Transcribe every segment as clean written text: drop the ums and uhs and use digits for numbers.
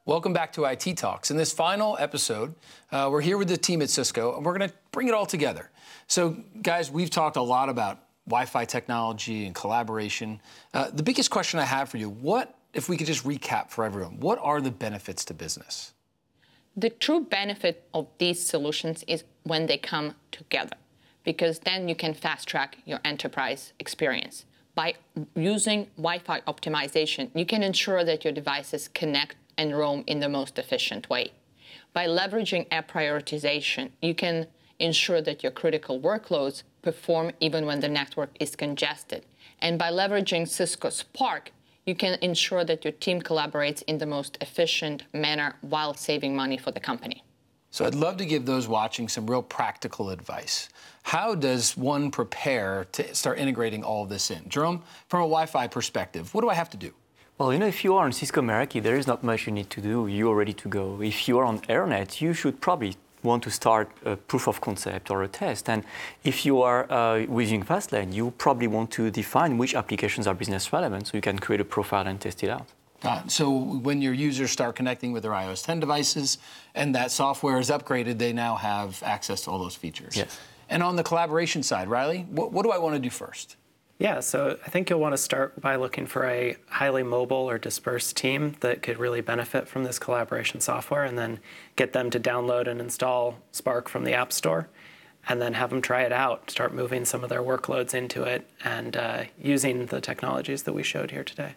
Welcome back to IT Talks. In this final episode, we're here with the team at Cisco, and we're going to bring it all together. So, guys, we've talked a lot about Wi-Fi technology and collaboration. The biggest question I have for you, if we could just recap for everyone, what are the benefits to business? The true benefit of these solutions is when they come together, because then you can fast-track your enterprise experience. By using Wi-Fi optimization, you can ensure that your devices connect and roam in the most efficient way. By leveraging app prioritization, you can ensure that your critical workloads perform even when the network is congested. And by leveraging Cisco Spark, you can ensure that your team collaborates in the most efficient manner while saving money for the company. So I'd love to give those watching some real practical advice. How does one prepare to start integrating all of this in? Jerome, from a Wi-Fi perspective, what do I have to do? Well, if you are on Cisco Meraki, there is not much you need to do. You are ready to go. If you are on AirNet, you should probably want to start a proof of concept or a test. And if you are using Fastlane, you probably want to define which applications are business relevant so you can create a profile and test it out. So when your users start connecting with their iOS 10 devices and that software is upgraded, they now have access to all those features. Yes. And on the collaboration side, Riley, what do I want to do first? Yeah, so I think you'll want to start by looking for a highly mobile or dispersed team that could really benefit from this collaboration software, and then get them to download and install Spark from the App Store, and then have them try it out, start moving some of their workloads into it, and using the technologies that we showed here today.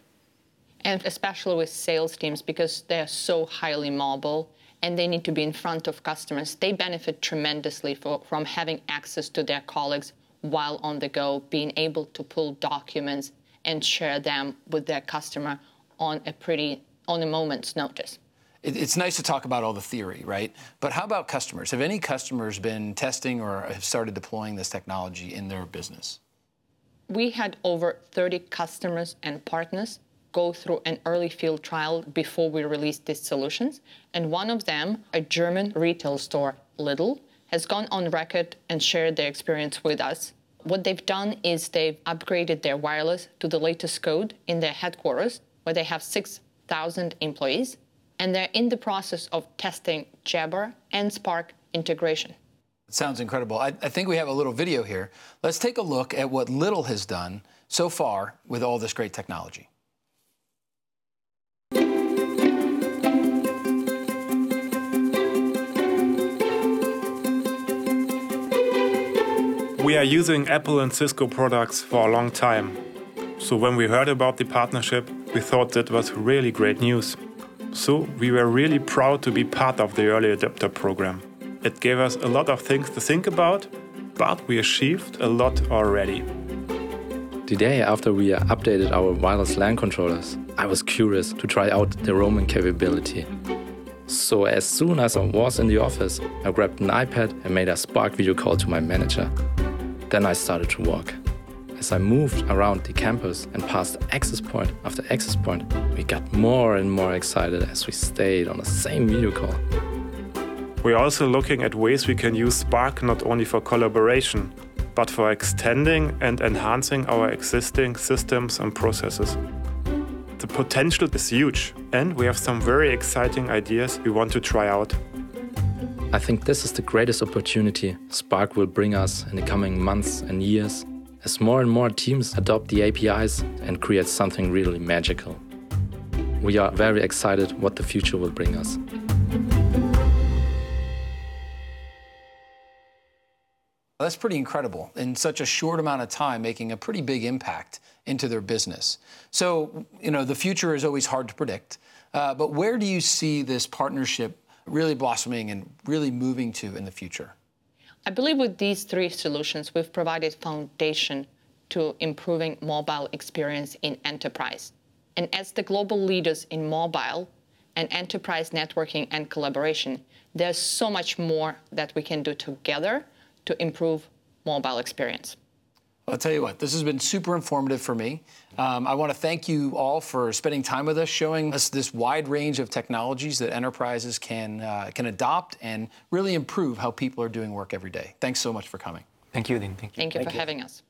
And especially with sales teams, because they're so highly mobile and they need to be in front of customers, they benefit tremendously from having access to their colleagues while on the go, being able to pull documents and share them with their customer on a moment's notice. It's nice to talk about all the theory, right? But how about customers? Have any customers been testing or have started deploying this technology in their business? We had over 30 customers and partners go through an early field trial before we released these solutions. And one of them, a German retail store, Lidl, has gone on record and shared their experience with us. What they've done is they've upgraded their wireless to the latest code in their headquarters, where they have 6,000 employees, and they're in the process of testing Jabber and Spark integration. It sounds incredible. I think we have a little video here. Let's take a look at what Lidl has done so far with all this great technology. We are using Apple and Cisco products for a long time. So when we heard about the partnership, we thought that was really great news. So we were really proud to be part of the early adopter program. It gave us a lot of things to think about, but we achieved a lot already. The day after we updated our wireless LAN controllers, I was curious to try out the roaming capability. So as soon as I was in the office, I grabbed an iPad and made a Spark video call to my manager. Then I started to walk. As I moved around the campus and passed access point after access point, we got more and more excited as we stayed on the same video call. We're also looking at ways we can use Spark not only for collaboration, but for extending and enhancing our existing systems and processes. The potential is huge, and we have some very exciting ideas we want to try out. I think this is the greatest opportunity Spark will bring us in the coming months and years, as more and more teams adopt the APIs and create something really magical. We are very excited what the future will bring us. That's pretty incredible. In such a short amount of time, making a pretty big impact into their business. So, the future is always hard to predict. But where do you see this partnership really blossoming and really moving to in the future? I believe with these three solutions, we've provided foundation to improving mobile experience in enterprise. And as the global leaders in mobile and enterprise networking and collaboration, there's so much more that we can do together to improve mobile experience. I'll tell you what, this has been super informative for me. I want to thank you all for spending time with us, showing us this wide range of technologies that enterprises can adopt and really improve how people are doing work every day. Thanks so much for coming. Thank you, Dean. Thank you for having us.